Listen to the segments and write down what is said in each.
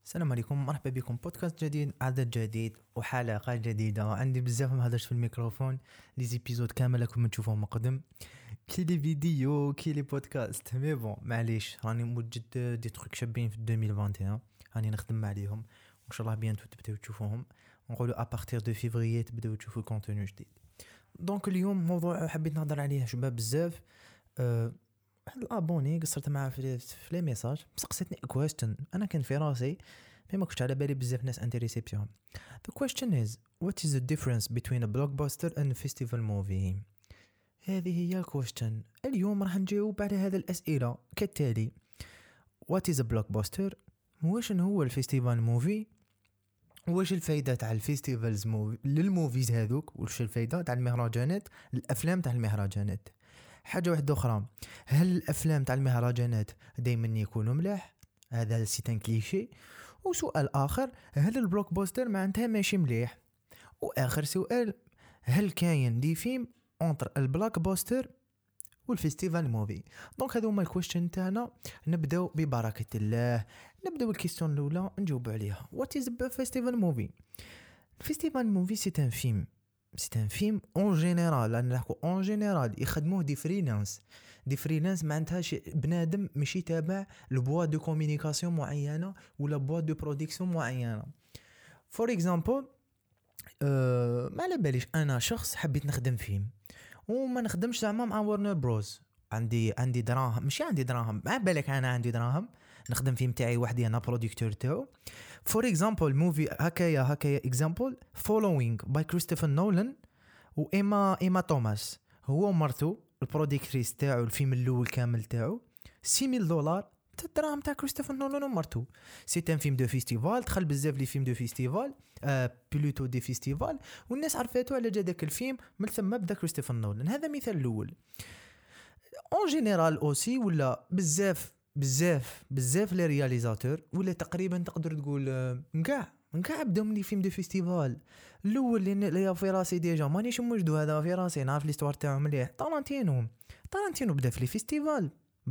السلام عليكم، مرحبا بكم بودكاست جديد، عدد جديد وحلقة جديدة. عندي بزاف ما هضرش في الميكروفون، لي زيبيزود كامل راكم تشوفوهم مقدم، كي لي فيديو كي لي بودكاست. مي بون معليش، راني موجد دي تروك شابين في 2021 راني نخدم عليهم، وان شاء الله بيانتو تبداو تشوفوهم. نقولوا ابارتير دو فيفري تبداو تشوفوا كونتوني جديد. دونك اليوم موضوع حبيت نهضر عليه شباب بزاف. واحد الابوني قصرت معاه في لي ميساج، سقسيتني كويستشن انا كان في راسي ما كنتش على بالي بزاف ناس انتريسي بهم. The question is, what is the difference between a blockbuster and a festival movie? هذه هي الكويستشن. اليوم راح نجاوب على هذه الأسئلة كالتالي: What is a blockbuster؟ واش هو الفيستيفال موفي؟ واش الفايدة تاع الفيستيفالز موفي للموفيز هذوك؟ واش الفايدة تاع المهرجانات الأفلام تاع المهرجانات؟ حاجة واحدة أخرى، هل الأفلام تاع المهرجانات دايما يكونوا ملاح؟ هذا سيتان كليشي. وسؤال آخر، هل البلوك بوستر معناتها ماشي مليح؟ وآخر سؤال، هل كاين دي فيلم انتر البلاك بوستر والفيستيفال موفي؟ دونك هذو هما الكويشن تاعنا. نبداو ببركة الله. نبداو الكيستيون الاولى نجاوب عليها. وات از فيستيفال موفي؟ الفيستيفال موفي سي ان فيلم، سي ان فيلم اون جينيرال، انا نحكو اون جينيرال يخدموه دي فريلانس. دي فريلانس معناتها بنادم ماشي تابع لبوا دو كومونيكاسيون معينه ولا بوا دو برودكسيون معينه. فور اكزامبل، ما على باليش انا شخص حبيت نخدم فيلم وما نخدمش زعما مع ورنر بروز، عندي دراهم، ماشي عندي دراهم، ما بالك انا عندي دراهم نخدم فيلم تاعي وحدي، انا بروديكتور تاعو. فور اكزامبل موفي هكايا اكزامبل فولوينغ باي كريستوفر نولان وايما توماس، هو ومرته البروديكتريس تاعو الفيلم الاول كامل تاعو $6,000 الدراهم تاع كريستوفر نولان ومرته. سي ان فيلم دو فيستيفال، دخل بزاف لي فيلم دو فيستيفال، بلوتو دي فيستيفال، والناس عرفاتو على جا داك الفيلم، من ثم بدا كريستوفر نولان. هذا مثال الاول. اون جينيرال اوسي ولا بزاف لي رياليزاتور، ولا تقريبا تقدر تقول كاع بداو من فيلم دو فيستيفال. الاول اللي في راسي ديجا مانيش موجدو، هذا في راسي نعرف ليستوار تاعو مليح. طارانتينو بدا في لي فيستيفال،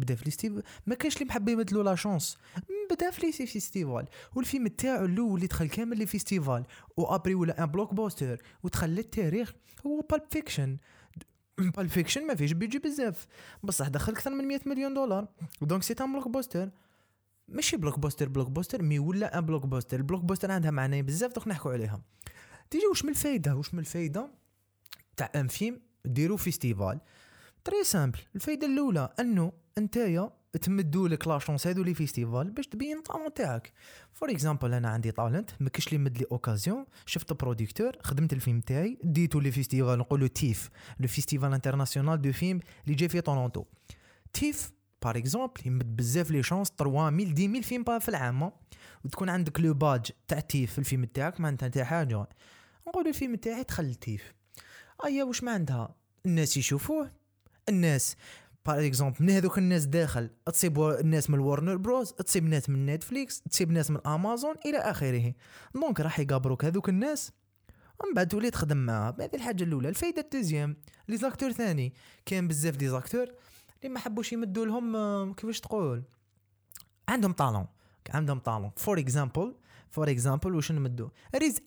ما كانش اللي محب يبدلوا لا شانس، بدا في لي فيستيفال. والفيلم تاعو الاول اللي دخل كامل لي فيستيفال وابري ولا ان بلوك بوستر ودخل للتاريخ هو بالب فيكشن. بالب فيكشن ما فيش بيجي بزاف، بصح دخل اكثر من $100 مليون. دونك سي ان بلوك بوستر، ماشي بلوك بوستر مي ولا ان بلوك بوستر. البلوك بوستر عندها معنى بزاف، دوك نحكوا عليها. تيجي واش من الفايده تاع ان فيلم ديرو فيستيفال؟ تري سامبل. الفايده الاولى انه نتايا تمدوا لك لا شونس هذو لي فيستيفال باش تبين الطالون تاعك. فور اكزامبل انا عندي طالنت، ما كاش لي مد لي اوكازيون، شفت بروديكتور، خدمت الفيلم تاعي، ديتو لي فيستيفال، نقولوا تيف، لو فيستيفال انترناسيونال دو فيلم اللي جاي في تورونتو. تيف بار اكزومبل يمد بزاف لي شانس 3000 10000 فيلم في العام، وتكون عندك لو باج تاع تيف في الفيلم تاعك، معناتها تاع حاجه نقول الفيلم تاعي دخل تيف. ايا واش ما عندها الناس يشوفوه، الناس بار اكزومبل من هذوك الناس داخل تصيب الناس من الورنر بروز، تصيب ناس من نتفليكس، تصيب ناس من امازون الى اخره. دونك راح يقابروك هذوك الناس ومن بعد تولي تخدم معاه. هذه الحاجه الاولى. الفايده الثانيه، لي زاكتور ثاني، كان بزاف دي زاكتور اللي ما حبوش يمدوا لهم كيفاش تقول، عندهم طالون. فور اكزامبل واش نمدوا ريز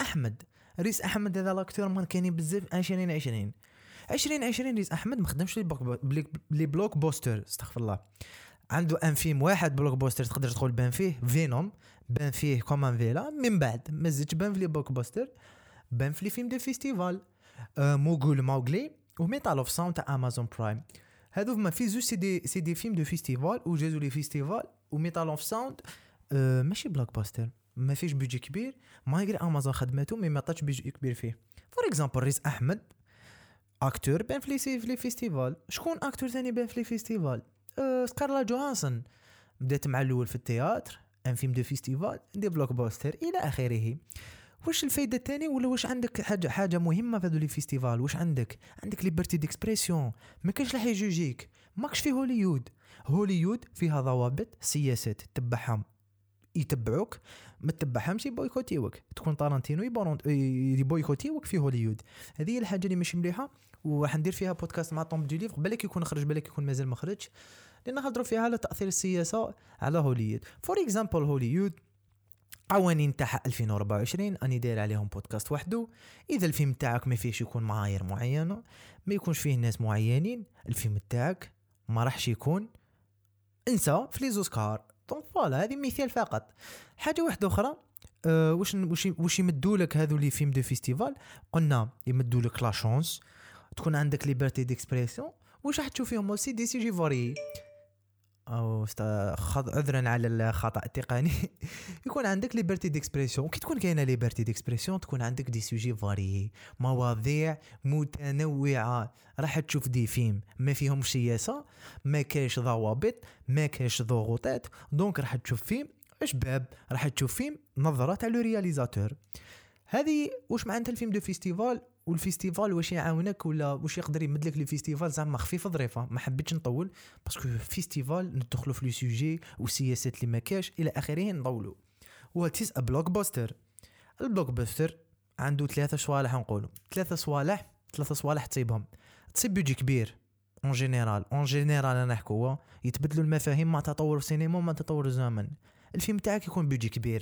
احمد هذا لاكتور ما كاين بزاف 2020 ريز احمد ما خدمش لي بلوك بوستر، استغفر الله. عنده ان فيلم واحد بلوك بوستر تقدر تقول بان فيه فينوم، بان فيه كومان فيلا، من بعد ما زدتش بان في لي بلوك بوستر، بان في لي فيلم دو فيستيفال، موغلي وميتال اوف ساوند تاع امازون برايم. هذو ما في زوج سي دي فيلم دو فيستيفال وجازو لي فيستيفال. وميتال اوف ساوند ماشي بلوك بوستر، ما فيش بيجي كبير، ما يقري امازون خدمته مي ما عطاتش بيجي كبير فيه. فور اكزامبل ريز احمد اكتور بان في لي فيستيفال. شكون اكتور ثاني بان في لي فيستيفال؟ سكارلا جوهانسون بدات مع الاول في التياتر، ان فيلم دو فيستيفال، دي بلوك بوستر الى اخره. واش الفايده الثانيه ولا واش عندك حاجه مهمه في هذو لي فيستيفال؟ واش عندك ليبرتي ديكسبرسيون، ما كاينش راح يجوجيك، ماكش في هوليوود فيها ضوابط سياسات تتبعهم يتبعوك، ما تتبعهمش يبويكوتيوك. تكون طارنتينو يبويكوتيوك في هوليوود. هذه هي الحاجه اللي مش مليحه، وراح ندير فيها بودكاست مع طوم دي ليفر، بالك يكون خرج بالك يكون مازال ما خرجش، لان نهضروا فيها على تاثير السياسه على هوليوود. فور اكزامبل هوليوود قوانين تاع 2024 اني داير عليهم بودكاست وحده. اذا الفيلم تاعك ما فيش يكون معايير معينه، ما يكونش فيه ناس معينين، الفيلم تاعك ما راحش يكون انسى في لي زوسكار. دونك فوالا هذه مثال فقط. حاجه واحده اخرى، واش يمدوا لك هذو لي فيلم دو فيستيفال؟ قلنا يمدوا لك لا شانس، تكون عندك ليبرتي ديكسبريسيون. واش راح تشوف فيهم اوسي دي سيجي فاري، او عذرا على الخطا التقني يكون عندك ليبرتي ديكسبريسيون. كي تكون كاينه ليبرتي ديكسبريسيون تكون عندك دي سوجي فاري، مواضيع متنوعه. راح تشوف دي فيلم ما فيهم سياسه، ما كايش ضوابط، ما كايش ضغوطات. دونك راح تشوف فيلم شباب، راح تشوف فيلم نظره تاع لو رياليزاتور. هذه واش معناتها الفيلم دو فيستيفال. والفيستيفال واش يعاونك ولا واش يقدر يمد لك لي فيستيفال زعما خفيف ظريفه. ما حبيتش نطول باسكو فيستيفال ندخلوا في لو سوجي والسياسات اللي ما كاش الى اخره نطولوا. واتيز ا بلوك باستر. البلوك باستر عنده ثلاثه صوالح، نقولوا ثلاثه صوالح تصيبهم. تصيب بيجي كبير اون جينيرال انا نحكوا يتبدلوا المفاهيم مع تطور السينما ومع تطور الزمن. الفيلم تاعك يكون بيجي كبير،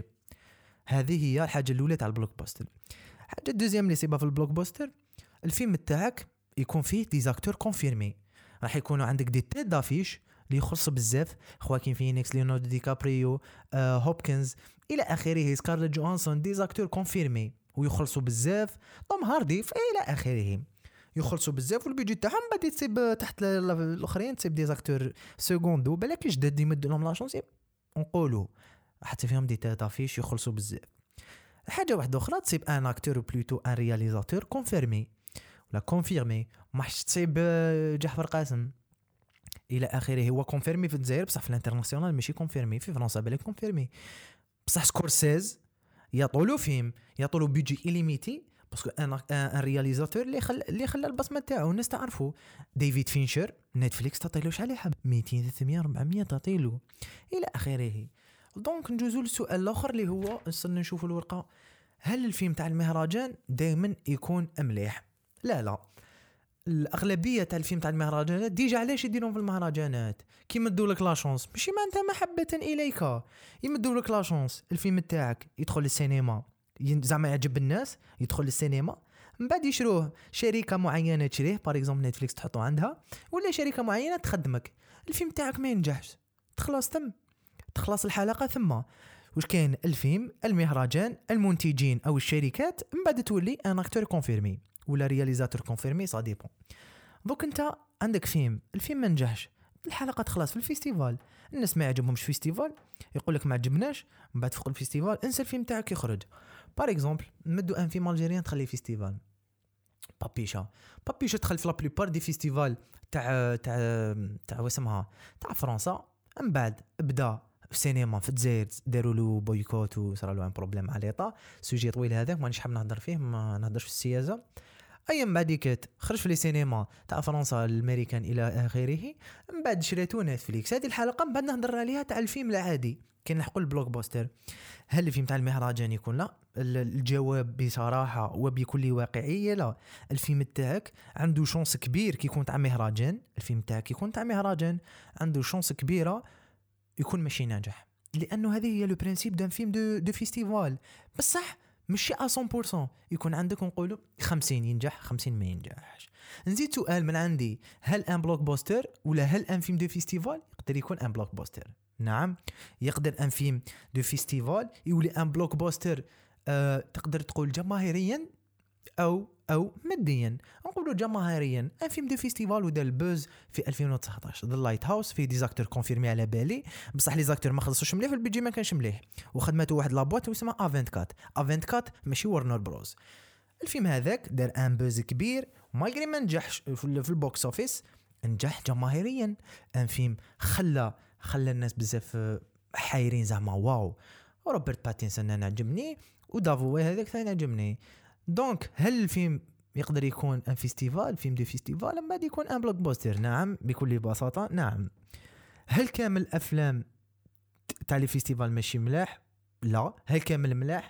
هذه هي الحاجه الاولى تاع البلوك باستر. حاجه الدوزيام اللي يصيبها في البلوك باستر، الفيلم تاعك يكون فيه دي زاكتور كونفيرمي. راح يكونوا عندك دي تيت دافيش اللي يخص بزاف، خواكين فينيكس، ليوناردو دي كابريو، هوبكنز الى اخره، سكارلت جوهانسون، دي زاكتور كونفيرمي ويخلصوا بزاف. توم هاردي الى اخره يخلصوا بزاف. والبيجي تاعهم بعد تصيب تحت الاخرين، تصيب دي زاكتور سكوندو بالك جداد يمد لهم لا شونس، نقولوا حتى فيهم دي تيت دافيش يخلصوا بزاف. حاجه واحده اخرى تصيب ان اكتور بلوتو ان رياليزاتور كونفيرمي ولا كونفيرمي. ماحش تصيب جعفر قاسم الى اخره. هو كونفيرمي في الجزائر بصح في الانترناسيونال ماشي كونفيرمي. في فرنسا بالك كونفيرمي بصح سكورسيز يطولوا فيلم، يطولوا بيجي إليميتي باسكو ان رياليزاتور اللي خلى البصمه تاعو الناس تعرفوا. ديفيد فينشر نتفليكس تعطيلو شحال يحب 200 300 400 تعطيلو الى اخره. دونك نجوزو للسؤال الاخر اللي هو نصير نشوفوا الورقه، هل الفيلم تاع المهرجان دائما يكون مليح؟ لا الاغلبيه تاع الفيلم تاع المهرجانات ديجا علاش يديرون في المهرجانات؟ كي يمدوا لك لا شانس، ماشي معناتها محبه اليك، يمدوا لك لا شانس الفيلم تاعك يدخل للسينما زعما يعجب الناس، يدخل للسينما من بعد يشروه شركه معينه تشريه، بار اكزومبل نتفليكس تحطه عندها ولا شركه معينه تخدمك. الفيلم تاعك ما ينجحش، تخلص الحلقه ثم واش كاين؟ الفيلم، المهرجان، المنتجين او الشركات من بعد تولي ان اكتور كونفيرمي ولا رياليزاتور كونفيرمي، سا ديبون. دوك انت عندك فيلم، الفيلم ما نجحش، الحلقه تخلص في الفيستيفال، الناس ما يعجبهمش فيستيفال، يقول لك ما عجبناش، من بعد فوق الفيستيفال انسى الفيلم تاعك يخرج. بار اكزومبل نمدو ان فيلم الجيريان تخلي فيستيفال بابيشا دخل في لا بليبار دي فيستيفال تاع واسمها تاع فرنسا. من بعد بدا في السينما في الجزائر داروا له بويكوت وصار له ان بروبليم مع ليطا. سوجي طويل هذاك مانيش حاب نهضر فيه، ما نهضرش في السياسه. ايام بعد كات خرج في لي سينما تاع فرنسا الامريكان الى اخره. من بعد شريتو نتفليكس. هذه الحلقه من بعد نهضر عليها تاع الفيلم العادي كي نحكوا البلوك باستر. هل الفيلم تاع المهرجان يكون؟ لا. الجواب بصراحه وبكل واقعيه لا. الفيلم تاعك عنده شانس كبير كي يكون تاع مهرجان، الفيلم تاعك يكون تاع مهرجان عنده شانس كبيره يكون ماشي ناجح، لانه هذه هي لو برينسيپ دان فيلم دو فيستيفال. بصح ماشي 100% يكون عندك نقولوا 50 ينجح 50 ما ينجحش. نزيد سؤال من عندي، هل ان بلوك باستر ولا هل ان فيلم دو فيستيفال يقدر يكون ان بلوك باستر؟ نعم يقدر ان فيلم دو فيستيفال يولي ان بلوك باستر. تقدر تقول جماهيريا او ماديا. نقولوا جماهيريا ان فيلم دو فيستيفال ودار البوز في 2019 ذا لايت هاوس، في ديزاكتور كونفيرمي على بالي بصح لي زاكتور ما خلصوش مليح، في البيجي ما كانش مليح وخدمته واحد لابوات اسمها A24 ماشي ورنر بروز. الفيلم هذاك دار ان بوز كبير مالغري ما نجحش في البوكس اوفيس، نجح جماهيريا. ان فيلم خلى الناس بزاف حايرين زعما واو. روبرت باتينسون انا عجبني ودافو هذاك ثاني عجبني. دونك هل الفيلم يقدر يكون ان فيستيفال، فيلم دو فيستيفال من بعد يكون ان بلوك باستر؟ نعم بكل بساطه نعم. هل كامل الافلام تاع لي فيستيفال ماشي ملاح؟ لا. هل كامل ملاح؟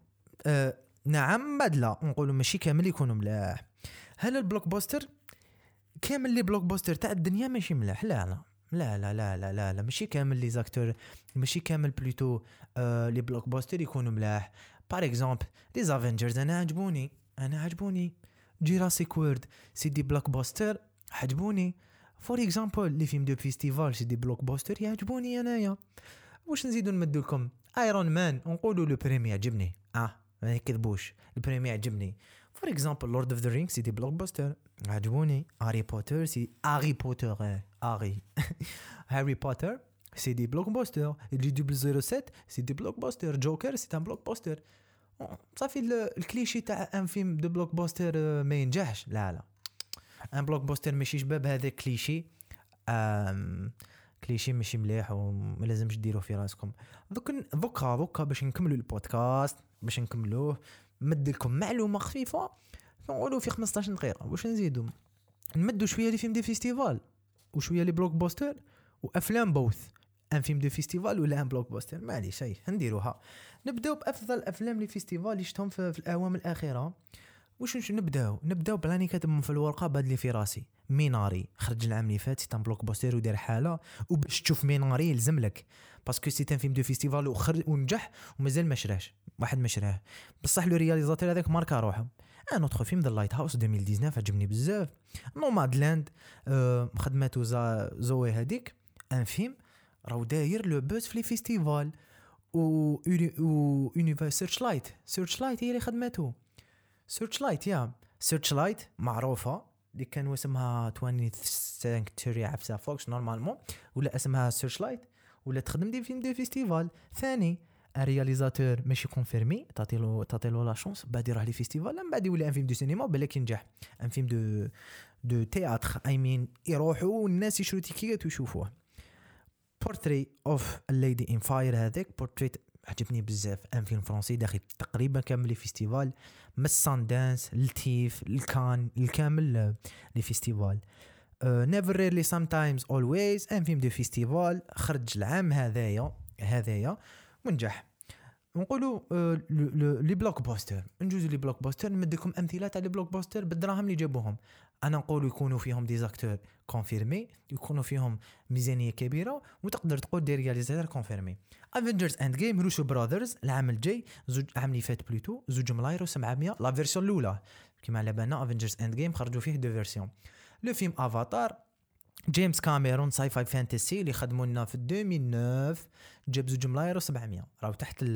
نعم بعد لا، نقولوا ماشي كامل يكونوا ملاح. هل البلوك باستر كامل لي بلوك باستر تاع الدنيا ماشي ملاح؟ لا لا لا لا لا لا, لا. ماشي كامل لي زاكتور, ماشي كامل بلوتو لي بلوك بوستر يكونوا ملاح. بار اكزومبل لي زافنجرز انا عجبوني جيراسيك وورد سي دي بلوك بوستر عجبوني. فور اكزومبل لي فيلم دو فيستيفال سي دي بلوك بوستر يعجبوني انايا. واش نزيدو نمدو لكم؟ ايرون مان نقولوا لو بريمي عجبني, ما يكذبوش, البريمي عجبني. فور اكزومبل لورد اوف ذا رينغ سي دي بلوك بوستر عجبوني. هاري بوتر سي هاري بوتر هاري بوتر سي دي بلوك بوستر. جي 007 سي دي بلوك بوستر. جوكر سي ان بلوك بوستر. صافي الكليشي تاع ان فيلم دو بلوك بوستر ما ينجحش. لا ان بلوك بوستر ماشي شباب, هذا كليشي. كليشي ماشي مليح وما لازمش ديروه في راسكم. دوكا باش نكملوا البودكاست, باش نكملوه نمد لكم معلومه خفيفه نقولوا في 15 دقيقه. واش نزيدوا؟ نمدوا شويه لي فيلم دي فيستيفال وشويه لي بلوك بوستر وافلام بوث. ان فيلم دو فيستيفال ولا ان بلوك بوستر, معليش هاي نديروها. نبداو بافضل افلام لي فيستيفال اللي شفتهم في الاعوام الاخيره. واش نبداو بلاني كاتبهم في الورقه باد لي في راسي. ميناري خرج العام اللي فات, سي ان بلوك بوستر ودار حاله. وباش تشوف ميناري يلزم لك باسكو سي ان فيلم دو فيستيفال ونجح ومازال ما شراهش, واحد ما شراه بصح لو رياليزاتور هذاك ماركا روحه. ان اوتر فيلم ذا لايت هاوس 2019 عجبني بزاف. نومادلاند خدماتو زوي هذيك ان فيلم راهو داير لو بوز في لي فيستيفال. و يونيفرس سيرش لايت هي اللي خدماتو. سيرش لايت معروفه اللي كان اسمها 20 سانكتوري عفسه فوكس نورمالمون, ولا اسمها سيرش لايت, ولا تخدم دي فيلم دي فيستيفال ثاني. الرياليزاتور ماشي كونفيرمي, تعطيلو لا شونس بعد يروح لي فيستيفال, من بعد يولي ان فيلم دو سينما بالك ينجح. ان فيلم دو تياتر اي مين يروحوا والناس يشرو تيكيات ويشوفوه. بورتري اوف الليدي ان فاير, هذاك بورتريت عجبني بزاف. ان فيلم فرنسي داخل تقريبا كامل لي فيستيفال, من الساندانس التيف الكان الكامل لي فيستيفال. نيفر ريرلي سام تايمز اولويز, ان فيلم دو فيستيفال خرج العام هذايا ونجح. نقولوا لي بلوك بوستر, نجوزوا لي بلوك بوستر, نمدلكم امثله تاع لي بلوك بوستر بالدراهم اللي جابوهم. انا نقول يكونوا فيهم دي زاكتور كونفيرمي, يكونوا فيهم ميزانيه كبيره, وتقدر تقول دي رياليزاتور كونفيرمي. افنجرز اند جيم روسو براذرز العام الجاي, العام اللي فات بلوتو 2 ملاير و700 لا فيرسيون الاولى. كما على بالنا افنجرز اند جيم خرجوا فيه دو فيرسيون. لو فيلم افاتار جيمس كاميرون ساي فاي فانتسي اللي خدموا لنا في 2009 جاب 2 ملاير و700 راهو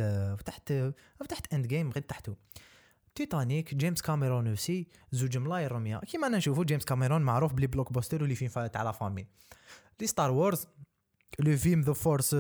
تحت اند جيم غير تحته. تيتانيك جيمس كاميرون اوسي 2 ملاير و100. كيما انا نشوفوا جيمس كاميرون معروف بلي بلوك بوستر واللي فيلم تاع لا فامي. لي ستار وورز لو فيلم ذا فورس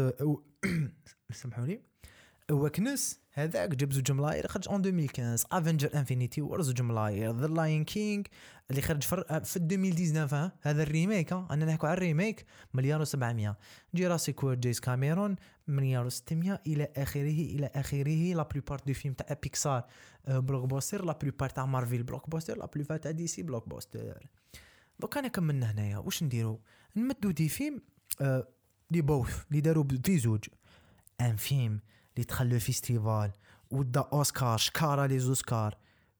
سمحوا لي وكنس هذاك جاب 2 ملاير خرج اون 2015. افنجر انفينيتي وورز 2 ملاير. ذا لاين كينج اللي خرج في 2019 هذا الريميك, انا نحكوا على الريميك, مليار و700. جيراسيك وورد جيمس كاميرون مليار و600 الى اخره. لا بلوبار دو فيلم تاع بيكسار بلوك بوستر, لا بلوبار تاع مارفل بلوك بوستر, لا بلوبار تاع دي سي بلوك بوستر. دوك انا كملنا هنايا. واش نديرو؟ نمدو دي فيلم لي بوث اللي داروا في زوج. ان فيلم اللي دخل فيستيفال ودا اوسكار شكارا لي زوسكار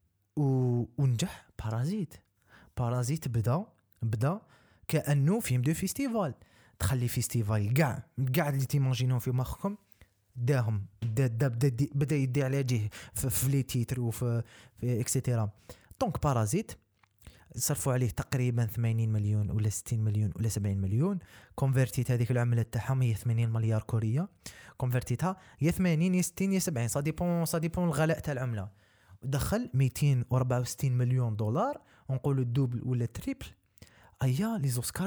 ونجح. بارازيت بدا كانه فيلم دو فيستيفال. تخلي فيستيفال كاع اللي تيماجينو في مخكم داهم بدا يدي على جهه في لي تيتر وفي اكسيتيرا. دونك بارازيت صرفوا عليه تقريبا 80 مليون ولا 60 مليون ولا 70 مليون. كونفرتيت هذيك العمله تاعهم هي 80 مليار كوريه. كونفرتيتها يا 80 يا 60 يا 70 سا ديبون الغلاء تاع العمله. ودخل 264 مليون دولار, نقولوا الدوبل ولا التريبل. ايا لي زوسكار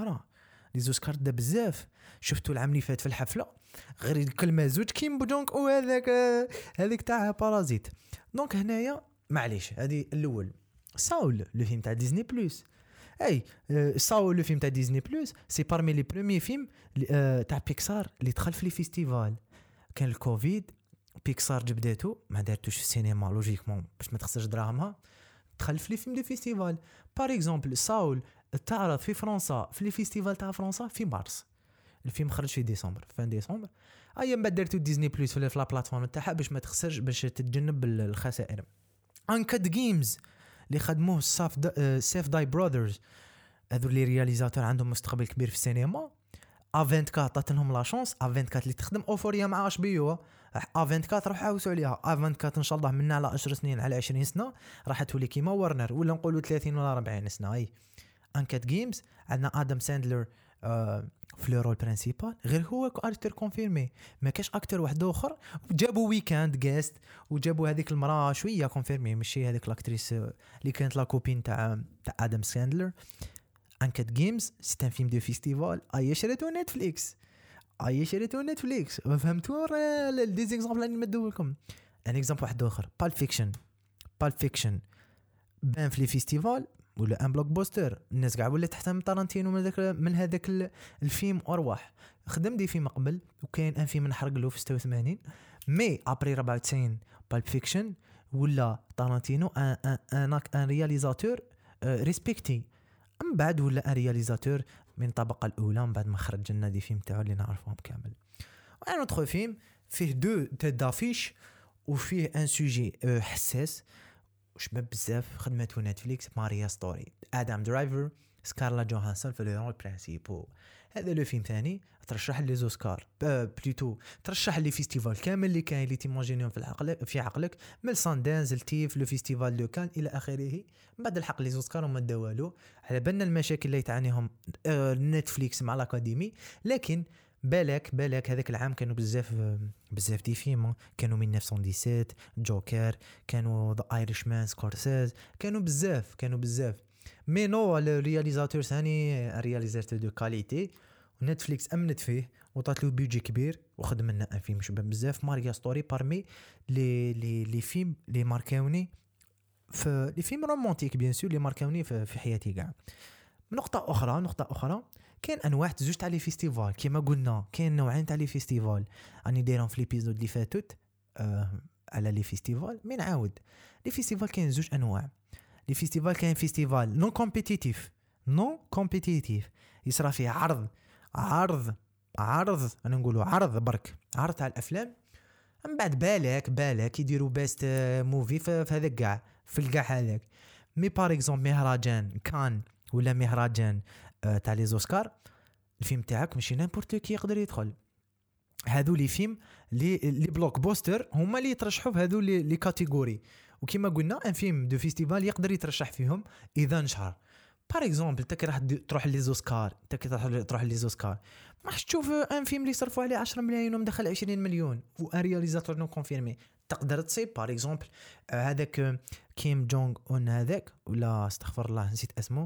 دا بزاف. شفتوا العام اللي فات في الحفله غير كلمه زوج كيم بودونك هذيك تاع بارازيت. دونك هنايا معليش هذه الاول. ساول لو فيلم تاع ديزني بلس. ساول لو فيلم تاع ديزني بلس سي بارمي لي بروميي فيلم تاع بيكسار اللي دخل في لي فيستيفال. كان الكوفيد, بيكسار جبداتو ما دارتوش في السينما لوجيكمون باش ما تخسرش دراهمها, دخل في لي فيلم دي فيستيفال. بار اكزومبل ساول تعرض في فرنسا في لي فيستيفال تاع فرنسا في مارس, الفيلم خرج في ديسمبر فان ديسمبر. من بعد دارتو ديزني بلس في لا بلاتفورم تاعها باش ما تخسرش, باش تتجنب الخسائر. انكد جيمز اللي خدموه سيف داي براذرز, هذو اللي رياليزاتور عندهم مستقبل كبير في السينما. A24 عطات لهم لا شونس. A24 اللي تخدم اوفوريا مع اش بي او، A24 راح عاوسوا عليها. A24 ان شاء الله منا على 10 سنين على 20 سنه راح تولي كيما ورنر، ولا نقولوا 30 ولا 40 سنه. اي انكات جيمز عندنا ادم ساندلر في لو رول برينسيبال، غير هو اكتر كونفيرمي، ما كاش اكتر واحد اخر. جابوا ويكاند جيست وجابوا هذيك المراه شويه كونفيرمي، ماشي هذيك لاكتريس اللي كانت لا كوبين تاع ادم ساندلر. انكات جيمز سي ان فيلم دو فيستيفال اي شريتو نتفليكس فهمتوا لي زيكزامبل اللي نمدو لكم. ان اكزامبل واحد اخر بالب فيكشن بان في لي فيستيفال ولا ان بلوك بوستر، الناس قاع ولا تحترم تارانتينو من هذاك الفيلم ارواح. خدم دي فيلم قبل وكاين ان فيلم نحرق له في 86 مي ابري 94 بالب فيكشن ولا تارانتينو ان رياليزاتور ريسبكتي. من بعد ولا ان رياليزاتور من الطبقه الاولى من بعد ما خرج لنا دي فيلم تاعو اللي نعرفهم كامل. وان اوتر فيلم فيه دو تيت دافيش وفيه ان سوجي حساس وشباب بزاف خدمته نتفليكس. ماريا ستوري، ادم درايفر، سكارلا جوهانسون في لو رول برينسيبو. هذا لو فيلم ثاني ترشح لي زوسكار بلوتو، ترشح لي فيستيفال كامل اللي كاين اللي تيماجينيهم في عقلك من ساندانز التيف لو فيستيفال لو كان الى اخره. بعد الحق لي زوسكار وما داوالو على بالنا المشاكل اللي تعانيهم نتفليكس مع الاكاديمي. لكن بالك هذاك العام كانوا بزاف دي فيلم، كانوا 1917 جوكر، كانوا ذا ايرش مان سكورسيز، كانوا بزاف مي نو الرياليزاتور ثاني رياليزاتور دو كاليتي. ونتفليكس امنت فيه وطات له بيجي كبير وخدم لنا ان فيلم شباب بزاف. ماريا ستوري بارمي لي فيلم لي ماركاوني في لي فيلم رومانتيك بيان سور لي ماركاوني في حياتي كاع. نقطة أخرى كاين أنواع زوج تاع لي فيستيفال كيما قلنا، كاين نوعين تاع لي فيستيفال راني دايرهم في ليبيزود اللي فاتت على لي فيستيفال. مي نعاود لي فيستيفال كاين زوج أنواع. لي فيستيفال كاين فيستيفال نون كومبيتيتيف يصرا فيه عرض انا نقولوا عرض برك، عرض تاع الافلام. من بعد بالك يديروا بيست موفي في هذاك كاع في الكاع هذاك. مي بار اكزومبل مهرجان كان ولا مهرجان تاع لي زوسكار، الفيلم تاعك ماشي نيمبورت كي يقدر يدخل. هذو لي فيلم لي بلوك بوستر هما اللي يترشحوا في هذو لي كاتيجوري. وكما قلنا ان فيلم دو فيستيفال يقدر يترشح فيهم اذا نشهر. بار اكزومبل انت راح تروح لي زوسكار، ما راح تشوف ان فيلم اللي يصرفوا عليه 10 ملايين ومدخل 20 مليون وان رياليزاتور نو كونفيرمي. تقدر تصيب بار اكزومبل هذاك كيم جونغ اون هذاك ولا استغفر الله نسيت اسمه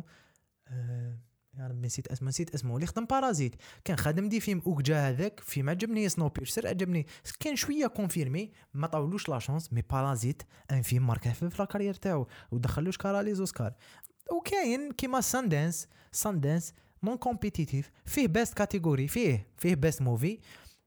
يا ربي نسيت اسمه اللي خدم بارازيت. كان خادم دي فيلم اوكجا هذاك فيلم عجبني سنو بيرسر عجبني، كان شويه كونفيرمي ما طاولوش لا شانس. مي بارازيت ان فيلم ماركه في لا كارير تاعو ودخلوش كارا لي زوسكار. وكاين كيما ساندانس نون كومبيتيتيف فيه بيست كاتيجوري، فيه بيست موفي.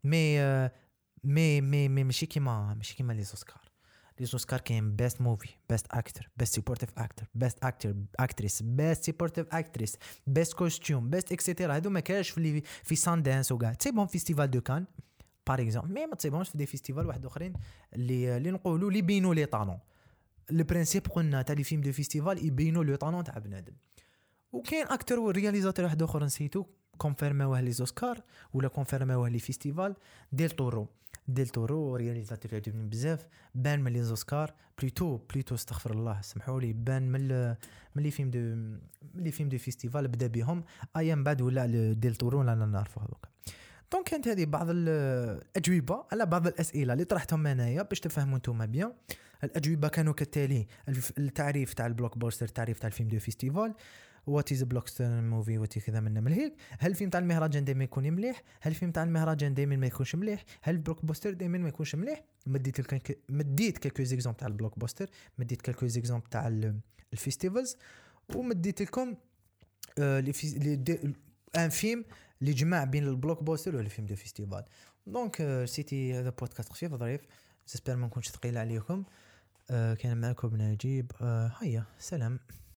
مي ماشي كيما لي زوسكار كاين بيست موفي، بيست اكتر، بيست سيبورتيف اكتر، بيست اكتريس، بيست سيبورتيف اكتريس، بيست كوستيوم، بيست اكسيتيرا. هادو ما كاش في ساندانس وكاع. تصيبهم فيستيفال دو كان بار اكزومبل، مي ما تصيبهمش في دي فيستيفال واحد اخرين اللي نقولوا لي بينوا لي طالون. لو برينسيپ قلنا تاع لي فيلم دو فيستيفال يبينوا لو طالون تاع بنادم. وكاين اكتر ورياليزاتور واحد اخر نسيتو كونفيرماوه لي زوسكار ولا كونفيرماوه لي فيستيفال. ديل تورو رياليزاتور عجبني بزاف، بان من لي زوسكار بلوتو استغفر الله سمحوا لي، بان من لي فيلم دو فيستيفال بدا بهم ايام بعد ولا ديل تورو لا نعرفوا هذوك. دونك كانت هذه بعض الاجوبه على بعض الاسئله اللي طرحتهم انايا باش تفهموا نتوما بيان. الاجوبه كانوا كالتالي: التعريف تاع البلوك بوستر، تعريف تاع الفيلم دو فيستيفال، وات از بلوكباستر موفي، وات كذا من هيك. هل الفيلم تاع المهرجان دائما يكون مليح؟ هل الفيلم تاع المهرجان دائما ما يكونش مليح؟ هل البلوك بوستر دائما ما يكونش مليح؟ مديت كالكو زيكزامبل تاع البلوك بوستر، مديت كالكو زيكزامبل تاع الفيستيفالز، ومديت لكم ان فيلم اللي جمع بين البلوك بوستر والفيلم دو فيستيفال. دونك سيتي هذا بودكاست خفيف ظريف، جيسبر ما نكونش ثقيل عليكم. كان معكم نجيب. هيا سلام.